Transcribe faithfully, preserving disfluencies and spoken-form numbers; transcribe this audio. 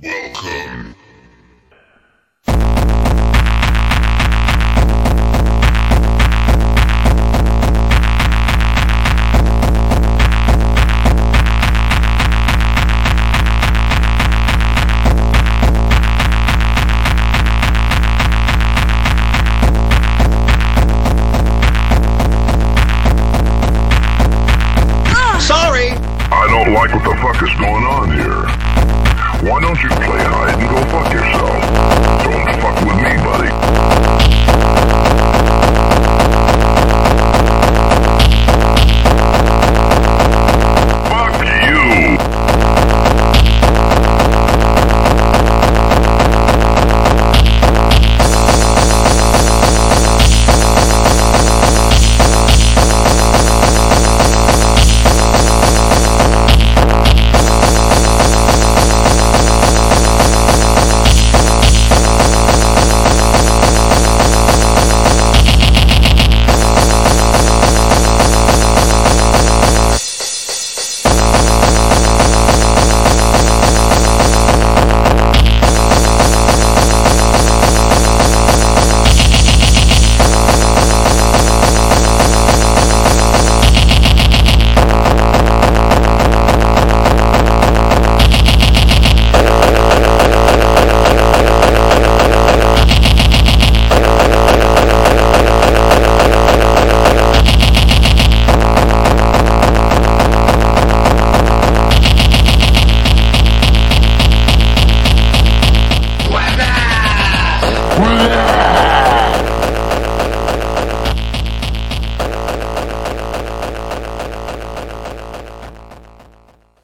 Welcome. I don't like what the fuck is going on here. Why don't you play hide and go fuck yourself? Don't fuck with me, buddy.